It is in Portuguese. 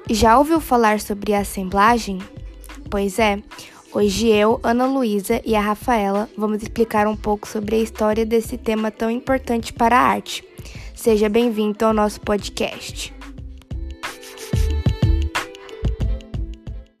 Já ouviu falar sobre assemblagem? Pois é, hoje eu, Ana Luísa e a Rafaela vamos explicar um pouco sobre a história desse tema tão importante para a arte. Seja bem-vindo ao nosso podcast.